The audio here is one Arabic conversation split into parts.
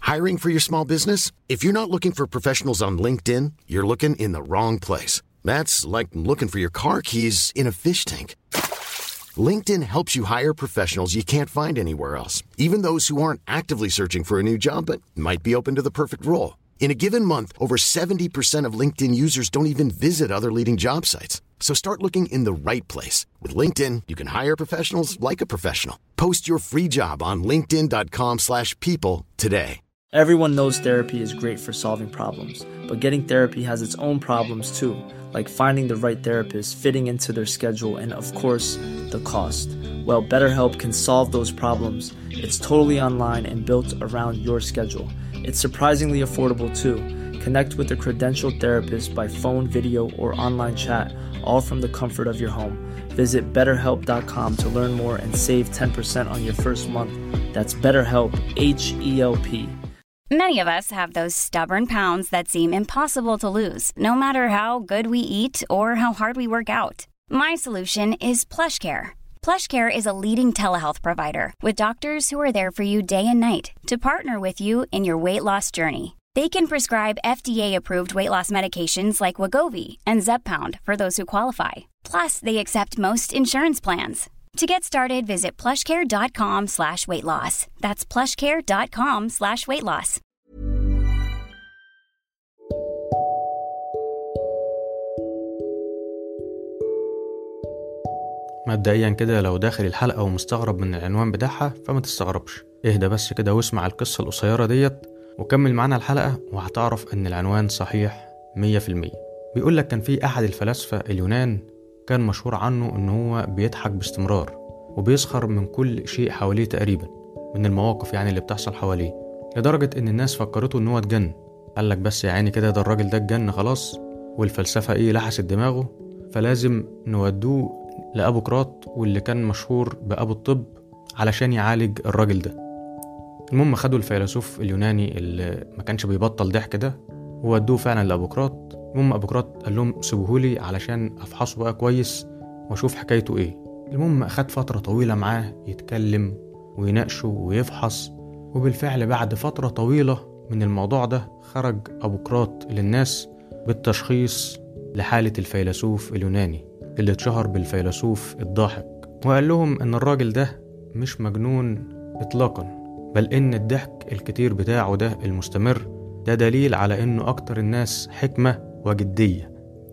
Hiring for your small business? If you're not looking for professionals on LinkedIn, you're looking in the wrong place. That's like looking for your car keys in a fish tank. LinkedIn helps you hire professionals you can't find anywhere else, even those who aren't actively searching for a new job but might be open to the perfect role. In a given month, over 70% of LinkedIn users don't even visit other leading job sites. So start looking in the right place. With LinkedIn, you can hire professionals like a professional. Post your free job on linkedin.com/people today. Everyone knows therapy is great for solving problems, but getting therapy has its own problems too, like finding the right therapist, fitting into their schedule, and of course, the cost. Well, BetterHelp can solve those problems. It's totally online and built around your schedule. It's surprisingly affordable too. Connect with a credentialed therapist by phone, video, or online chat, all from the comfort of your home. Visit BetterHelp.com to learn more and save 10% on your first month. That's BetterHelp, H-E-L-P. Many of us have those stubborn pounds that seem impossible to lose, no matter how good we eat or how hard we work out. My solution is PlushCare. PlushCare is a leading telehealth provider with doctors who are there for you day and night to partner with you in your weight loss journey. They can prescribe FDA-approved weight loss medications like Wegovy and Zepbound for those who qualify. Plus, they accept most insurance plans. To get started, visit plushcare.com/weightloss. That's plushcare.com/weightloss. مبدئيا كده لو داخل الحلقة ومستغرب من العنوان بتاعها فما تستغربش، اهدى بس كده واسمع القصة القصيرة ديت وكمل معنا الحلقة وهتعرف ان العنوان صحيح 100%. بيقولك كان في احد الفلاسفة اليونان كان مشهور عنه ان هو بيضحك باستمرار وبيسخر من كل شيء حواليه تقريبا، من المواقف يعني اللي بتحصل حواليه، لدرجة ان الناس فكرته ان هو اتجن. قالك بس يا عيني كده ده الراجل ده اتجن خلاص، والفلسفة لحست دماغه، فلازم نودوه لأبوقراط واللي كان مشهور بأبو الطب علشان يعالج الراجل ده. المهم خدوا الفيلسوف اليوناني اللي ما كانش بيبطل ضحك ده وودوه فعلا لأبوقراط. المهم أبوقراط قال لهم سيبوهولي علشان أفحصه بقى كويس وأشوف حكايته إيه. المهم أخد فترة طويلة معاه يتكلم ويناقشه ويفحص، وبالفعل بعد فترة طويلة من الموضوع ده خرج أبوقراط للناس بالتشخيص لحالة الفيلسوف اليوناني اللي اتشهر بالفيلسوف الضاحك، وقال لهم ان الراجل ده مش مجنون اطلاقا، بل ان الضحك الكتير بتاعه ده المستمر ده دليل على انه اكتر الناس حكمة وجدية،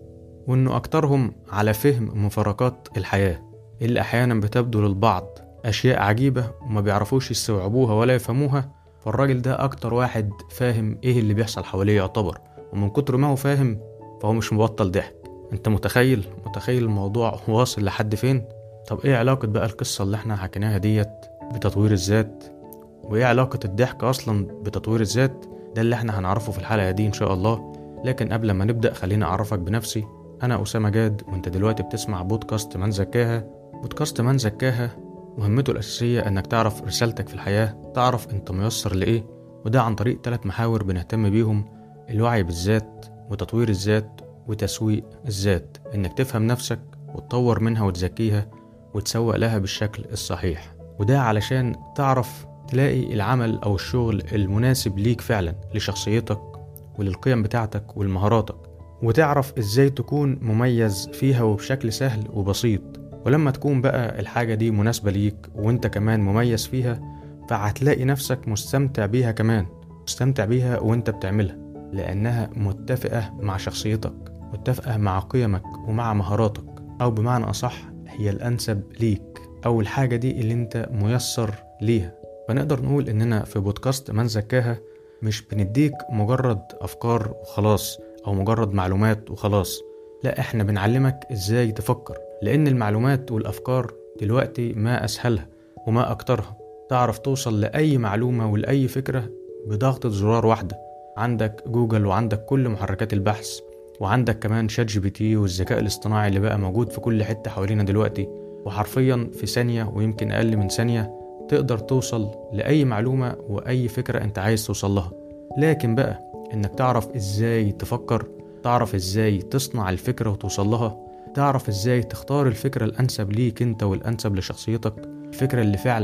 وانه اكترهم على فهم مفارقات الحياة اللي احيانا بتبدو للبعض اشياء عجيبة وما بيعرفوش يستوعبوها ولا يفهموها. فالراجل ده اكتر واحد فاهم ايه اللي بيحصل حواليه يعتبر، ومن كتر ما هو فاهم فهو مش مبطل ضحك. انت متخيل الموضوع واصل لحد فين؟ طب ايه علاقة بقى القصة اللي احنا حكيناها ديت بتطوير الذات؟ وايه علاقة الضحك اصلا بتطوير الذات؟ ده اللي احنا هنعرفه في الحلقة دي ان شاء الله. لكن قبل ما نبدأ خلينا اعرفك بنفسي. انا أسامة جاد، وانت دلوقتي بتسمع بودكاست من زكاها. بودكاست من زكاها مهمته الأساسية انك تعرف رسالتك في الحياة، تعرف انت ميسر لإيه، وده عن طريق 3 محاور بنهتم بيهم: الوعي بالذات وتطوير الذات وتسويق الذات. انك تفهم نفسك وتطور منها وتزكيها وتسوق لها بالشكل الصحيح، وده علشان تعرف تلاقي العمل او الشغل المناسب ليك فعلا، لشخصيتك وللقيم بتاعتك والمهاراتك، وتعرف ازاي تكون مميز فيها وبشكل سهل وبسيط. ولما تكون بقى الحاجة دي مناسبة ليك وانت كمان مميز فيها، فهتلاقي نفسك مستمتع بيها كمان، مستمتع بيها وانت بتعملها، لانها متفقة مع شخصيتك، متفقة مع قيمك ومع مهاراتك، أو بمعنى أصح هي الأنسب ليك، أو الحاجة دي اللي أنت ميسر ليها. فنقدر نقول إننا في بودكاست من زكاها مش بنديك مجرد أفكار وخلاص أو مجرد معلومات وخلاص، لا إحنا بنعلمك إزاي تفكر، لأن المعلومات والأفكار دلوقتي ما أسهلها وما أكترها. تعرف توصل لأي معلومة ولأي فكرة بضغطة زرار واحدة. عندك جوجل وعندك كل محركات البحث، وعندك كمان ChatGPT والذكاء الاصطناعي اللي بقى موجود في كل حتة حوالينا دلوقتي، وحرفيا في ثانية ويمكن أقل من ثانية تقدر توصل لأي معلومة وأي فكرة أنت عايز توصل لها. لكن بقى إنك تعرف إزاي تفكر، تعرف إزاي تصنع الفكرة وتوصل لها، تعرف إزاي تختار الفكرة الأنسب ليك أنت والأنسب لشخصيتك، الفكرة اللي فعلا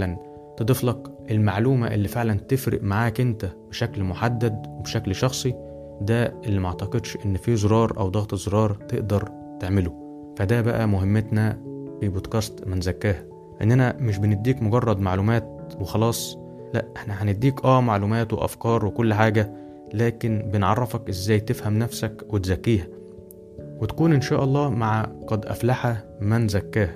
تضيف لك المعلومة اللي فعلا تفرق معاك انت بشكل محدد وبشكل شخصي، ده اللي ما اعتقدش ان في زرار او ضغط زرار تقدر تعمله. فده بقى مهمتنا في بودكاست من زكاها، اننا مش بنديك مجرد معلومات وخلاص، لا احنا هنديك معلومات وافكار وكل حاجة، لكن بنعرفك ازاي تفهم نفسك وتزكيها وتكون ان شاء الله مع قد افلح من زكاها.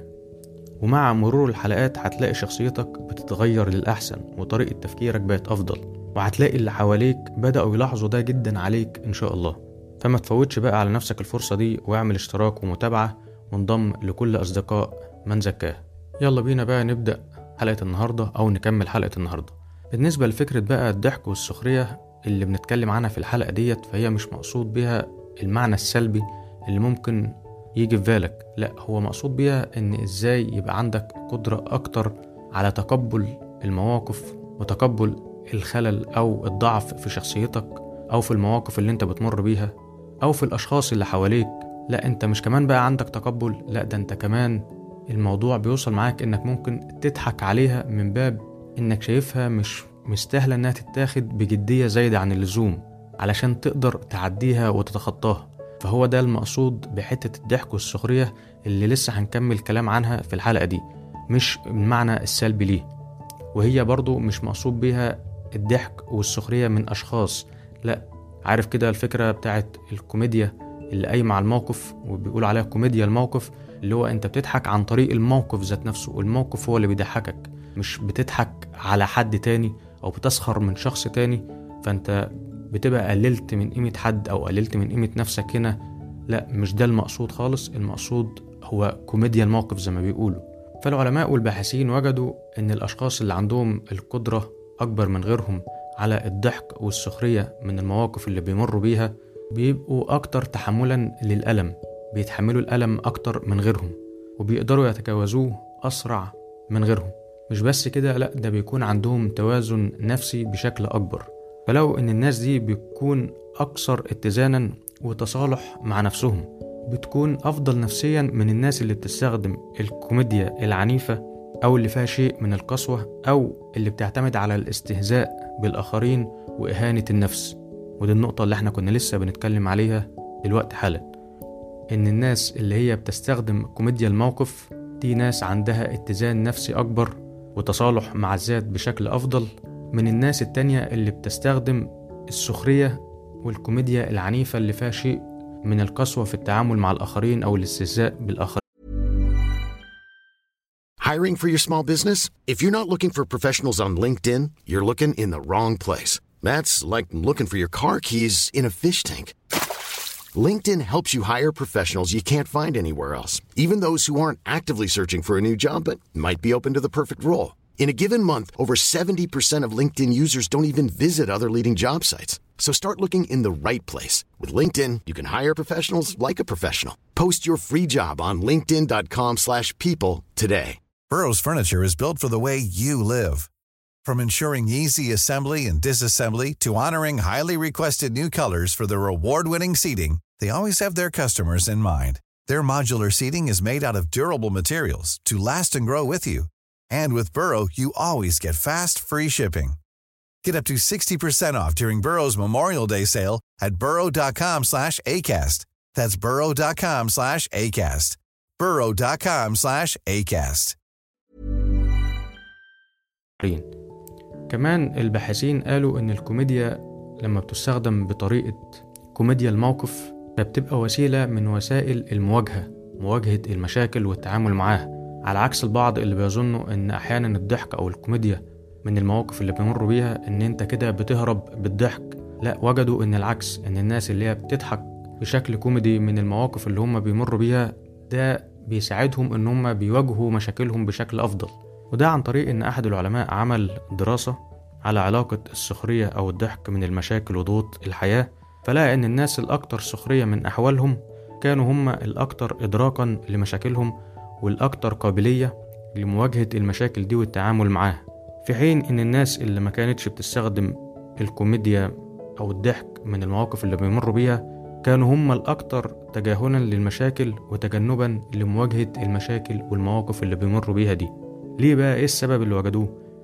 ومع مرور الحلقات هتلاقي شخصيتك بتتغير للأحسن وطريقة تفكيرك بقت أفضل، وهتلاقي اللي حواليك بدأوا يلاحظوا ده جدا عليك إن شاء الله. فما تفوتش بقى على نفسك الفرصة دي، واعمل اشتراك ومتابعة وانضم لكل أصدقاء من زكاه. يلا بينا بقى نبدأ حلقة النهاردة أو نكمل حلقة النهاردة. بالنسبة لفكرة بقى الضحك والسخرية اللي بنتكلم عنها في الحلقة ديت، فهي مش مقصود بها المعنى السلبي اللي ممكن يجي في بالك، لا هو مقصود بيها ان ازاي يبقى عندك قدرة اكتر على تقبل المواقف وتقبل الخلل او الضعف في شخصيتك او في المواقف اللي انت بتمر بيها او في الاشخاص اللي حواليك. لا انت مش كمان بقى عندك تقبل، لا ده انت كمان الموضوع بيوصل معاك انك ممكن تضحك عليها من باب انك شايفها مش مستاهلة انها تتاخد بجدية زايدة عن اللزوم علشان تقدر تعديها وتتخطاها. فهو ده المقصود بحتة الضحك والسخرية اللي لسه هنكمل كلام عنها في الحلقة دي، مش المعنى السلبي ليه. وهي برضو مش مقصود بيها الضحك والسخرية من أشخاص، لا عارف كده الفكرة بتاعت الكوميديا اللي قايمة على الموقف وبيقول عليها كوميديا الموقف، اللي هو انت بتضحك عن طريق الموقف ذات نفسه، والموقف هو اللي بيضحكك، مش بتضحك على حد تاني أو بتسخر من شخص تاني فانت بتبقى قللت من قيمة حد أو قللت من قيمة نفسك هنا. لا مش ده المقصود خالص، المقصود هو كوميديا الموقف زي ما بيقولوا. فالعلماء والباحثين وجدوا أن الأشخاص اللي عندهم القدرة أكبر من غيرهم على الضحك والسخرية من المواقف اللي بيمروا بيها بيبقوا أكتر تحملا للألم، بيتحملوا الألم أكتر من غيرهم وبيقدروا يتجاوزوه أسرع من غيرهم. مش بس كده، لا ده بيكون عندهم توازن نفسي بشكل أكبر. فلو ان الناس دي بتكون اكثر اتزانا وتصالح مع نفسهم، بتكون افضل نفسيا من الناس اللي بتستخدم الكوميديا العنيفة او اللي فيها شيء من القسوة او اللي بتعتمد على الاستهزاء بالاخرين واهانة النفس. ودي النقطة اللي احنا كنا لسه بنتكلم عليها دلوقتي حالا، ان الناس اللي هي بتستخدم كوميديا الموقف دي ناس عندها اتزان نفسي اكبر وتصالح مع الذات بشكل افضل من الناس التانية اللي بتستخدم السخرية والكوميديا العنيفة اللي فيها شيء من القسوة في التعامل مع الآخرين أو الاستهزاء بالآخرين. Hiring for your small business? If you're not looking for professionals on LinkedIn, you're looking in the wrong place. That's like looking for your car keys in a fish tank. LinkedIn helps you hire professionals you can't find anywhere else, even those who aren't actively searching for a new job but might be open to the perfect role. In a given month, over 70% of LinkedIn users don't even visit other leading job sites. So start looking in the right place. With LinkedIn, you can hire professionals like a professional. Post your free job on linkedin.com/people today. Burrow's furniture is built for the way you live. From ensuring easy assembly and disassembly to honoring highly requested new colors for their award-winning seating, they always have their customers in mind. Their modular seating is made out of durable materials to last and grow with you. And with Burrow, you always get fast, free shipping. Get up to 60% off during Burrow's Memorial Day sale at burrow.com/ACAST. That's burrow.com/ACAST. burrow.com/ACAST. كمان الباحثين قالوا إن الكوميديا لما بتستخدم بطريقة كوميديا الموقف فبتبقى وسيلة من وسائل مواجهة المشاكل والتعامل معاها، على عكس البعض اللي بيظنوا ان احيانا الضحك او الكوميديا من المواقف اللي بيمروا بيها ان انت كده بتهرب بالضحك. لا وجدوا ان العكس، ان الناس اللي هي بتضحك بشكل كوميدي من المواقف اللي هم بيمروا بيها ده بيساعدهم ان هم بيواجهوا مشاكلهم بشكل افضل. وده عن طريق ان احد العلماء عمل دراسة على علاقة السخرية او الضحك من المشاكل وضغوط الحياة، فلقى ان الناس الاكثر سخرية من احوالهم كانوا هم الاكثر ادراكا لمشاكلهم والأكثر قابلية لمواجهة المشاكل دي والتعامل معاها، في حين إن الناس اللي ما كانتش بتستخدم الكوميديا أو الضحك من المواقف اللي بيمروا بيها كانوا هم الأكثر تجاهلا للمشاكل وتجنبا لمواجهة المشاكل والمواقف اللي بيمروا بيها دي. ليه بقى؟ إيه السبب اللي وجدوه؟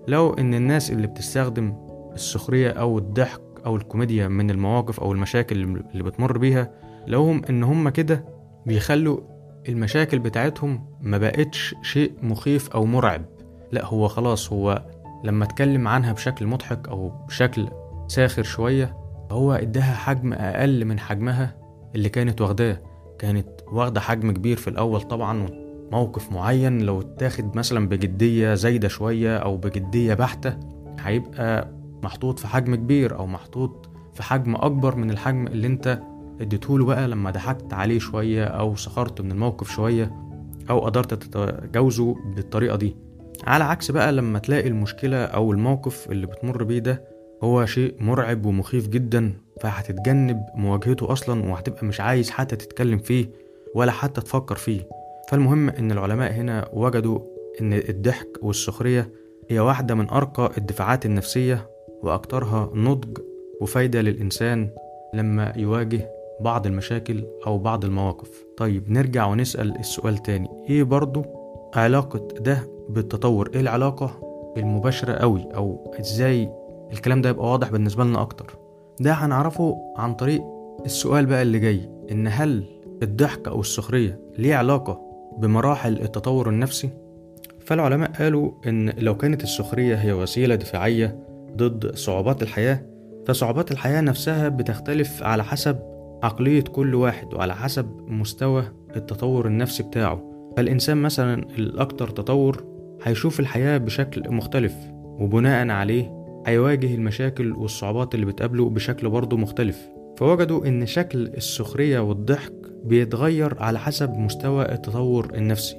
لو إن الناس اللي بتستخدم السخرية أو الضحك أو الكوميديا من المواقف أو المشاكل اللي بتمر بيها، لوهم إن هم كده بيخلوا المشاكل بتاعتهم ما بقتش شيء مخيف أو مرعب. لا، هو خلاص، هو لما اتكلم عنها بشكل مضحك أو بشكل ساخر شوية، هو اداها حجم أقل من حجمها اللي كانت واخداه. كانت واخدة حجم كبير في الأول طبعا، موقف معين لو اتاخد مثلا بجدية زايدة شوية أو بجدية بحتة هيبقى محطوط في حجم كبير أو محطوط في حجم أكبر من الحجم اللي انت اديتهوله بقى لما ضحكت عليه شوية أو سخرت من الموقف شوية أو قدرت تتجاوزه بالطريقة دي. على عكس بقى لما تلاقي المشكلة أو الموقف اللي بتمر بيه ده هو شيء مرعب ومخيف جدا، فهتتجنب مواجهته أصلا وهتبقى مش عايز حتى تتكلم فيه ولا حتى تفكر فيه. فالمهم إن العلماء هنا وجدوا إن الضحك والسخرية هي واحدة من أرقى الدفاعات النفسية وأكترها نضج وفايدة للإنسان لما يواجه بعض المشاكل أو بعض المواقف. طيب نرجع ونسأل السؤال تاني، إيه برضو علاقة ده بالتطور؟ إيه العلاقة المباشرة قوي، أو إزاي الكلام ده يبقى واضح بالنسبة لنا أكتر؟ ده هنعرفه عن طريق السؤال بقى اللي جاي، إن هل الضحك أو السخرية ليه علاقة بمراحل التطور النفسي؟ فالعلماء قالوا إن لو كانت السخرية هي وسيلة دفاعية ضد صعوبات الحياة، فصعوبات الحياة نفسها بتختلف على حسب عقلية كل واحد وعلى حسب مستوى التطور النفسي بتاعه. فالإنسان مثلا الأكثر تطور هيشوف الحياة بشكل مختلف، وبناء عليه هيواجه المشاكل والصعوبات اللي بتقابله بشكل برضه مختلف. فوجدوا إن شكل السخرية والضحك بيتغير على حسب مستوى التطور النفسي.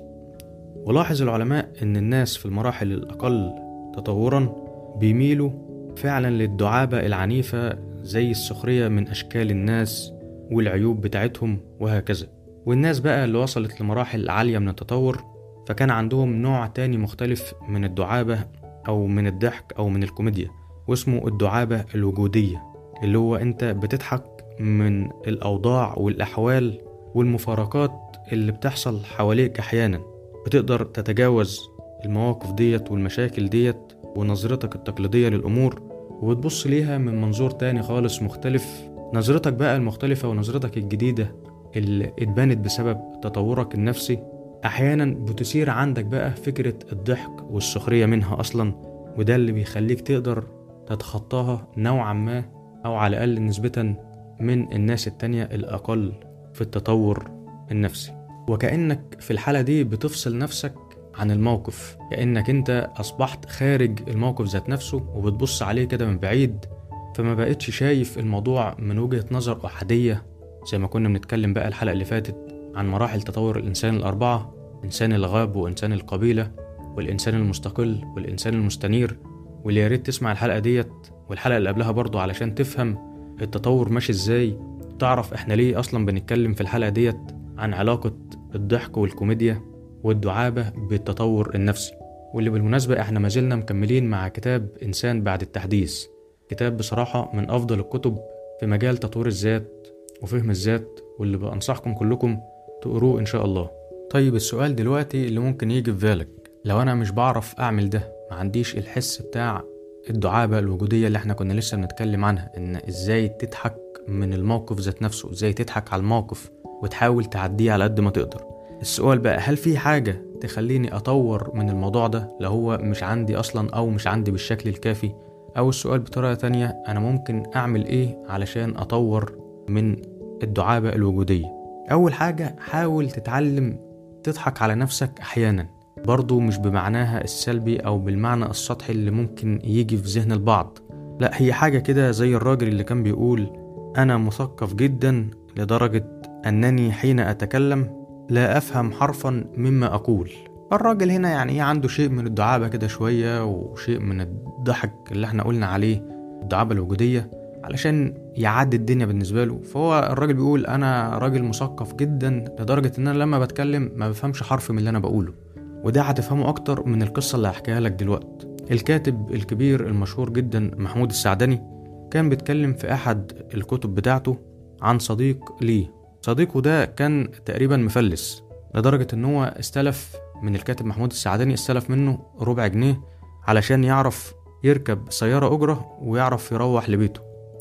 ولاحظ العلماء إن الناس في المراحل الأقل تطورا بيميلوا فعلا للدعابة العنيفة زي السخرية من أشكال الناس والعيوب بتاعتهم وهكذا. والناس بقى اللي وصلت لمراحل عالية من التطور فكان عندهم نوع تاني مختلف من الدعابة أو من الضحك أو من الكوميديا، واسمه الدعابة الوجودية، اللي هو أنت بتضحك من الأوضاع والأحوال والمفارقات اللي بتحصل حواليك. أحيانا بتقدر تتجاوز المواقف ديت والمشاكل ديت ونظرتك التقليدية للأمور وبتبص ليها من منظور تاني خالص مختلف. نظرتك بقى المختلفة ونظرتك الجديدة اللي اتبنت بسبب تطورك النفسي أحيانا بتثير عندك بقى فكرة الضحك والسخرية منها أصلا، وده اللي بيخليك تقدر تتخطاها نوعا ما أو على الأقل نسبة من الناس التانية الأقل في التطور النفسي. وكأنك في الحالة دي بتفصل نفسك عن الموقف، كأنك انت أصبحت خارج الموقف ذات نفسه وبتبص عليه كده من بعيد، فما بقتش شايف الموضوع من وجهة نظر أحادية زي ما كنا بنتكلم بقى الحلقة اللي فاتت عن مراحل تطور الإنسان الأربعة: إنسان الغاب وإنسان القبيلة والإنسان المستقل والإنسان المستنير. واللي ياريت تسمع الحلقة ديت والحلقة اللي قبلها برضو علشان تفهم التطور ماشي إزاي، تعرف إحنا ليه أصلا بنتكلم في الحلقة ديت عن علاقة الضحك والكوميديا والدعابة بالتطور النفسي. واللي بالمناسبة إحنا ما زلنا مكملين مع كتاب إنسان بعد التحديث، كتاب بصراحة من أفضل الكتب في مجال تطوير الذات وفهم الذات، واللي بأنصحكم كلكم تقروه إن شاء الله. طيب السؤال دلوقتي اللي ممكن يجي في بالك، لو أنا مش بعرف أعمل ده، ما عنديش الحس بتاع الدعابة الوجودية اللي احنا كنا لسه بنتكلم عنها، إن إزاي تضحك من الموقف ذات نفسه، إزاي تضحك على الموقف وتحاول تعديه على قد ما تقدر. السؤال بقى، هل في حاجة تخليني أطور من الموضوع ده لو هو مش عندي أصلا أو مش عندي بالشكل الكافي؟ أو السؤال بطريقة تانية، أنا ممكن أعمل إيه علشان أطور من الدعابة الوجودية؟ أول حاجة، حاول تتعلم تضحك على نفسك أحيانا، برضو مش بمعناها السلبي أو بالمعنى السطحي اللي ممكن يجي في ذهن البعض. لا، هي حاجة كده زي الراجل اللي كان بيقول: أنا مثقف جدا لدرجة أنني حين أتكلم لا أفهم حرفا مما أقول. الراجل هنا يعني عنده شيء من الدعابة كده شوية وشيء من الضحك اللي احنا قلنا عليه الدعابة الوجودية علشان يعدي الدنيا بالنسبة له. فهو الراجل بيقول: أنا راجل مثقف جدا لدرجة أن أنا لما بتكلم ما بفهمش حرف من اللي أنا بقوله. وده هتفهمه أكتر من القصة اللي هحكيها لك دلوقتي. الكاتب الكبير المشهور جدا محمود السعدني كان بيتكلم في أحد الكتب بتاعته عن صديق ليه. صديقه ده كان تقريبا مفلس لدرجة أنه استلف من الكاتب محمود السعدني، استلف منه 4 جنيه علشان يعرف يركب سيارة أجرة ويعرف يروح لبيته.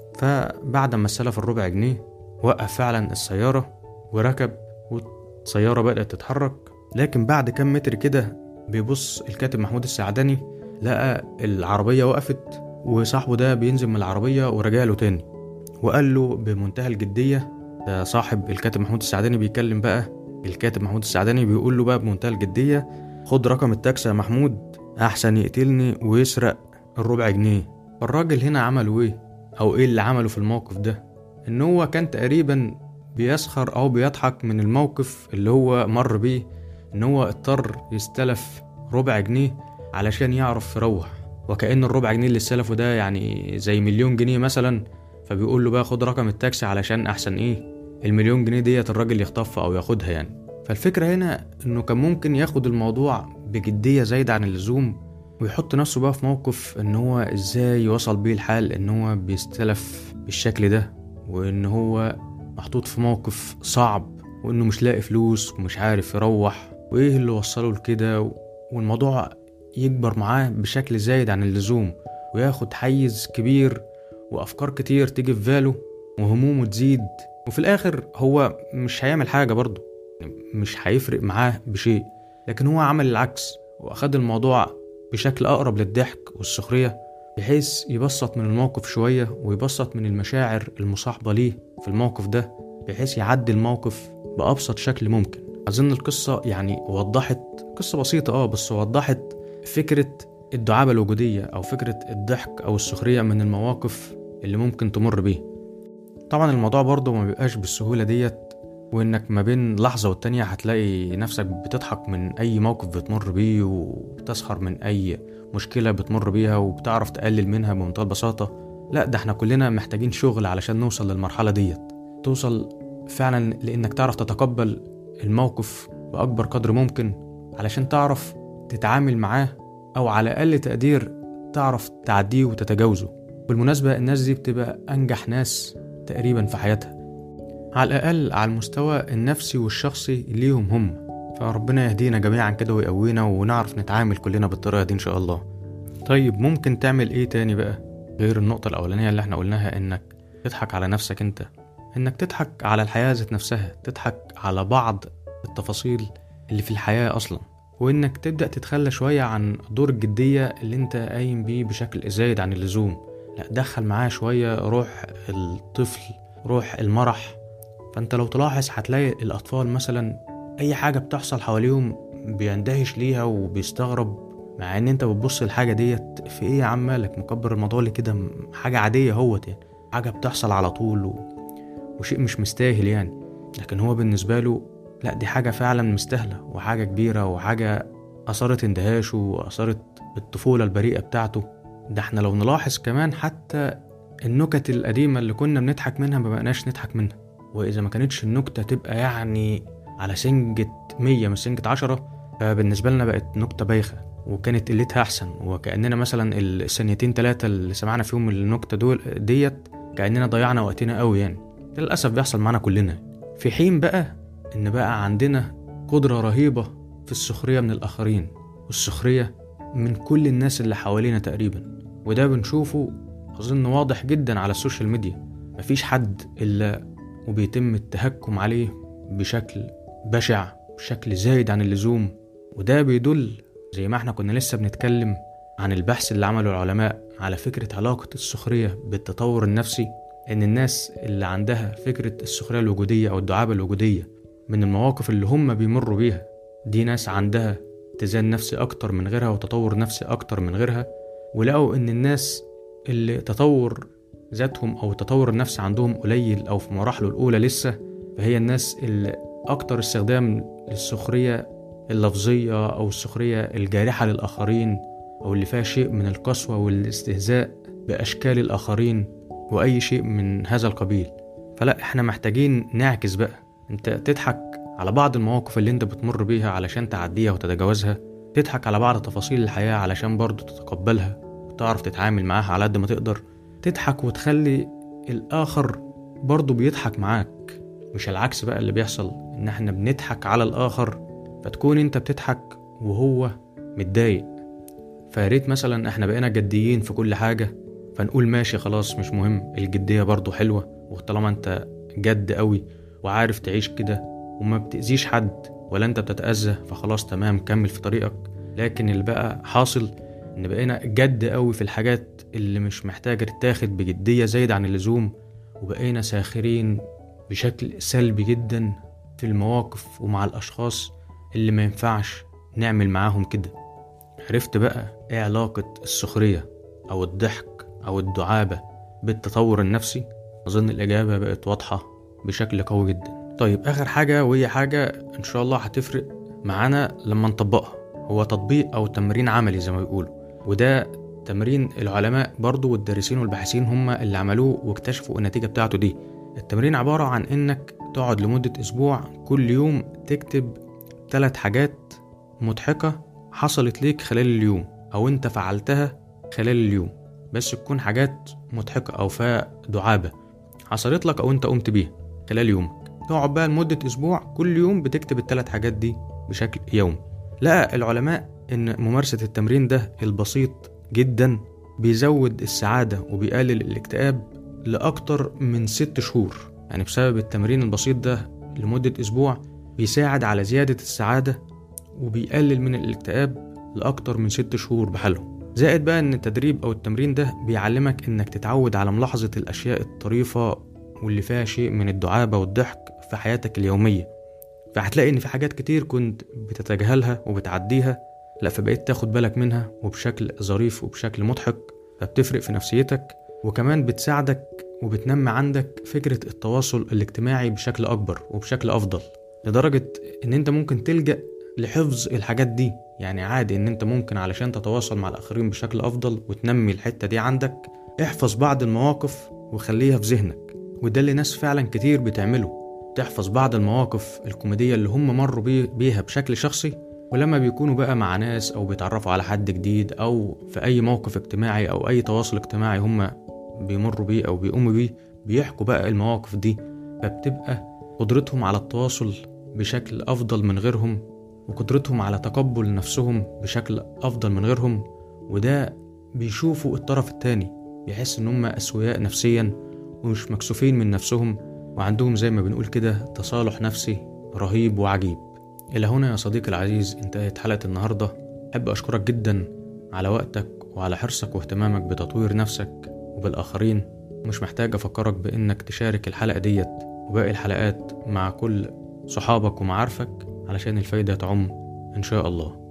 فبعد ما استلف الربع جنيه وقف فعلا السيارة وركب، والسيارة بدأت تتحرك. لكن بعد كام متر كده بيبص الكاتب محمود السعدني لقى العربية وقفت، وصاحبه ده بينزل من العربية ورجع له تاني وقال له بمنتهى الجدية، ده صاحب الكاتب محمود السعدني بيكلم بقى الكاتب محمود السعدني، بيقول له بقى بمنتهى الجدية: خد رقم التاكسي يا محمود أحسن يقتلني ويسرق الربع جنيه. فالراجل هنا عمله ايه، او ايه اللي عمله في الموقف ده؟ ان هو كان تقريبا بيسخر او بيضحك من الموقف اللي هو مر بيه، ان هو اضطر يستلف ربع جنيه علشان يعرف يروح، وكأن الربع جنيه اللي استلفه ده يعني زي 1,000,000 جنيه مثلا. فبيقول له بقى خد رقم التاكسي علشان احسن ايه 1,000,000 جنيه ديت الراجل يخطفها او ياخدها يعني. فالفكرة هنا انه كان ممكن ياخد الموضوع بجدية زايدة عن اللزوم، ويحط نفسه بقى في موقف ان هو ازاي يوصل بيه الحال ان هو بيستلف بالشكل ده، وان هو محطوط في موقف صعب، وانه مش لاقي فلوس ومش عارف يروح، وايه اللي وصله لكده، والموضوع يكبر معاه بشكل زايد عن اللزوم، وياخد حيز كبير وافكار كتير تيجي في باله وهمومه تزيد، وفي الاخر هو مش هيعمل حاجة برضه، مش هيفرق معاه بشيء. لكن هو عمل العكس واخد الموضوع بشكل أقرب للضحك والسخرية، بحيث يبسط من الموقف شوية ويبسط من المشاعر المصاحبة ليه في الموقف ده، بحيث يعدي الموقف بأبسط شكل ممكن. أظن القصة يعني وضحت، قصة بسيطة بس وضحت فكرة الدعابة الوجودية أو فكرة الضحك أو السخرية من المواقف اللي ممكن تمر بيه. طبعا الموضوع برضه ما بيبقاش بالسهولة ديت، وإنك ما بين لحظة والتانية هتلاقي نفسك بتضحك من أي موقف بتمر بيه، وبتسخر من أي مشكلة بتمر بيها، وبتعرف تقلل منها بمنتهى البساطة. لا، ده احنا كلنا محتاجين شغل علشان نوصل للمرحلة ديت، توصل فعلا لأنك تعرف تتقبل الموقف بأكبر قدر ممكن علشان تعرف تتعامل معاه، أو على أقل تقدير تعرف تعديه وتتجاوزه. بالمناسبة الناس دي بتبقى أنجح ناس تقريبا في حياتها، على الأقل على المستوى النفسي والشخصي ليهم هم. فربنا يهدينا جميعا كده ويقوينا ونعرف نتعامل كلنا بالطريقة دي إن شاء الله. طيب ممكن تعمل إيه تاني بقى غير النقطة الأولانية اللي احنا قلناها، إنك تضحك على نفسك أنت، إنك تضحك على الحياة ذات نفسها، تضحك على بعض التفاصيل اللي في الحياة أصلا، وإنك تبدأ تتخلى شوية عن دور الجدية اللي أنت قايم بيه بشكل زايد عن اللزوم. لا، دخل معاه شوية روح الطفل، روح المرح. فانت لو تلاحظ هتلاقي الأطفال مثلا أي حاجة بتحصل حواليهم بيندهش ليها وبيستغرب، مع ان انت بتبص الحاجة ديت في ايه يا عم مالك مكبر الموضوع ليه كده، حاجة عادية هوت يعني، حاجة بتحصل على طول وشيء مش مستاهل يعني. لكن هو بالنسبة له لا، دي حاجة فعلا مستاهلة وحاجة كبيرة وحاجة أثرت اندهاشه وأثرت الطفولة البريئة بتاعته. ده احنا لو نلاحظ كمان حتى النكت القديمة اللي كنا بنضحك منها ما بقناش نضحك منها، وإذا ما كانتش النكتة تبقى يعني على سنجة 100 مش سنجة 10، فبالنسبة لنا بقت نكتة بايخة وكانت قلتها أحسن، وكأننا مثلا الثانيتين 3 اللي سمعنا فيهم النكتة ديت كأننا ضيعنا وقتنا قوي يعني. ده للأسف بيحصل معنا كلنا، في حين بقى إن بقى عندنا قدرة رهيبة في السخرية من الآخرين والسخرية من كل الناس اللي حوالينا تقريبا. وده بنشوفه أظن واضح جدا على السوشيال ميديا، مفيش حد إلا وبيتم التهكم عليه بشكل بشع، بشكل زايد عن اللزوم. وده بيدل زي ما احنا كنا لسه بنتكلم عن البحث اللي عمله العلماء على فكرة علاقة السخرية بالتطور النفسي، ان الناس اللي عندها فكرة السخرية الوجودية او الدعابة الوجودية من المواقف اللي هم بيمروا بيها، دي ناس عندها اتزان نفسي اكتر من غيرها وتطور نفسي اكتر من غيرها. ولقوا ان الناس اللي تطور ذاتهم او التطور النفسي عندهم قليل او في مراحله الاولى لسه، فهي الناس اللي اكتر استخدام للسخرية اللفظية او السخرية الجارحة للاخرين، او اللي فيها شيء من القسوة والاستهزاء باشكال الاخرين واي شيء من هذا القبيل. فلا، احنا محتاجين نعكس بقى، انت تضحك على بعض المواقف اللي انت بتمر بيها علشان تعديها وتتجاوزها، تضحك على بعض تفاصيل الحياة علشان برضو تتقبلها وتعرف تتعامل معاها على قد ما تقدر. تضحك وتخلي الآخر برضو بيضحك معاك، مش العكس بقى اللي بيحصل، ان احنا بنضحك على الآخر فتكون انت بتضحك وهو متضايق. فياريت مثلا احنا بقينا جديين في كل حاجة، فنقول ماشي خلاص مش مهم، الجدية برضو حلوة، وطالما انت جد قوي وعارف تعيش كده وما بتأذيش حد ولا انت بتتأذى فخلاص تمام كمل في طريقك. لكن اللي بقى حاصل ان بقينا جد قوي في الحاجات اللي مش محتاجة تتاخد بجدية زايد عن اللزوم، وبقينا ساخرين بشكل سلبي جدا في المواقف ومع الأشخاص اللي ما ينفعش نعمل معاهم كده. عرفت بقى ايه علاقة السخرية أو الضحك أو الدعابة بالتطور النفسي؟ أظن الإجابة بقت واضحة بشكل قوي جدا. طيب آخر حاجة، وهي حاجة إن شاء الله هتفرق معانا لما نطبقها، هو تطبيق أو تمرين عملي زي ما بيقولوا، وده تمرين العلماء برضو والدارسين والباحثين هم اللي عملوه واكتشفوا النتيجة بتاعته دي. التمرين عبارة عن إنك تقعد لمدة أسبوع كل يوم تكتب 3 حاجات مضحكة حصلت ليك خلال اليوم أو أنت فعلتها خلال اليوم، بس تكون حاجات مضحكة أو فيها دعابة حصلت لك أو أنت قمت بيها خلال يومك. تقعد بقى لمدة أسبوع كل يوم بتكتب ال3 حاجات دي بشكل يومي. لقى العلماء إن ممارسة التمرين ده البسيط جدا بيزود السعادة وبيقلل الاكتئاب لأكتر من 6 شهور. يعني بسبب التمرين البسيط ده لمدة أسبوع بيساعد على زيادة السعادة وبيقلل من الاكتئاب لأكتر من 6 شهور بحالهم. زائد بقى ان التدريب او التمرين ده بيعلمك انك تتعود على ملاحظة الاشياء الطريفة واللي فيها شيء من الدعابة والضحك في حياتك اليومية. فهتلاقي ان في حاجات كتير كنت بتتجاهلها وبتعديها، لا فبقيت تاخد بالك منها وبشكل ظريف وبشكل مضحك، فبتفرق في نفسيتك وكمان بتساعدك وبتنمي عندك فكرة التواصل الاجتماعي بشكل اكبر وبشكل افضل، لدرجة ان انت ممكن تلجأ لحفظ الحاجات دي. يعني عادي ان انت ممكن علشان تتواصل مع الاخرين بشكل افضل وتنمي الحتة دي عندك، احفظ بعض المواقف وخليها في ذهنك. وده اللي ناس فعلا كتير بتعمله، تحفظ بعض المواقف الكوميدية اللي هم مروا بيها بشكل شخصي، ولما بيكونوا بقى مع ناس او بيتعرفوا على حد جديد او في اي موقف اجتماعي او اي تواصل اجتماعي هم بيمروا بيه او بيقوموا بيه، بيحكوا بقى المواقف دي، فبتبقى قدرتهم على التواصل بشكل افضل من غيرهم وقدرتهم على تقبل نفسهم بشكل أفضل من غيرهم. وده بيشوفوا الطرف التاني بيحس إن هم أسوياء نفسيا ومش مكسوفين من نفسهم، وعندهم زي ما بنقول كده تصالح نفسي رهيب وعجيب. إلى هنا يا صديقي العزيز انتهت حلقة النهاردة. أحب أشكرك جدا على وقتك وعلى حرصك واهتمامك بتطوير نفسك وبالآخرين. مش محتاج أفكرك بإنك تشارك الحلقة ديت وباقي الحلقات مع كل صحابك ومعارفك علشان الفايدة تعم إن شاء الله.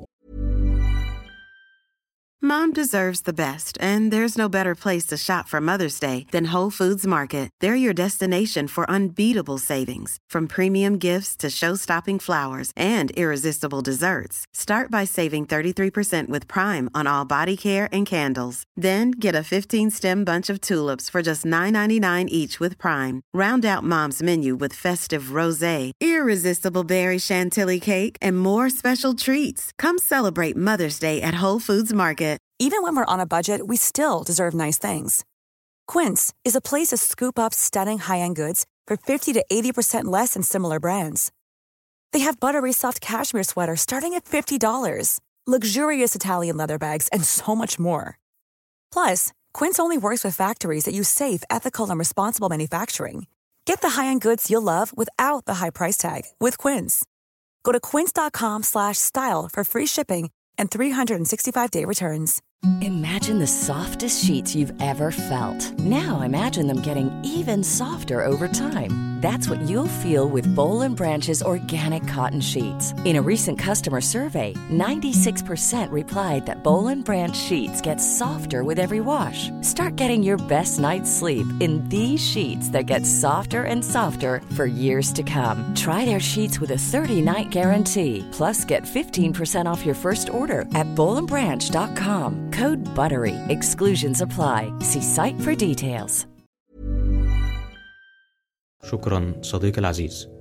Mom deserves the best, and there's no better place to shop for Mother's Day than Whole Foods Market. They're your destination for unbeatable savings, from premium gifts to show-stopping flowers and irresistible desserts. Start by saving 33% with Prime on all body care and candles. Then get a 15-stem bunch of tulips for just $9.99 each with Prime. Round out Mom's menu with festive rosé, irresistible berry chantilly cake, and more special treats. Come celebrate Mother's Day at Whole Foods Market. Even when we're on a budget, we still deserve nice things. Quince is a place to scoop up stunning high-end goods for 50 to 80% less than similar brands. They have buttery soft cashmere sweaters starting at $50, luxurious Italian leather bags, and so much more. Plus, Quince only works with factories that use safe, ethical, and responsible manufacturing. Get the high-end goods you'll love without the high price tag with Quince. Go to quince.com/style for free shipping and 365-day returns. Imagine the softest sheets you've ever felt. Now imagine them getting even softer over time. That's what you'll feel with Boll & Branch's organic cotton sheets. In a recent customer survey, 96% replied that Boll & Branch sheets get softer with every wash. Start getting your best night's sleep in these sheets that get softer and softer for years to come. Try their sheets with a 30-night guarantee. Plus, get 15% off your first order at bollandbranch.com. Code BUTTERY. Exclusions apply. See site for details. شكرا صديقي العزيز.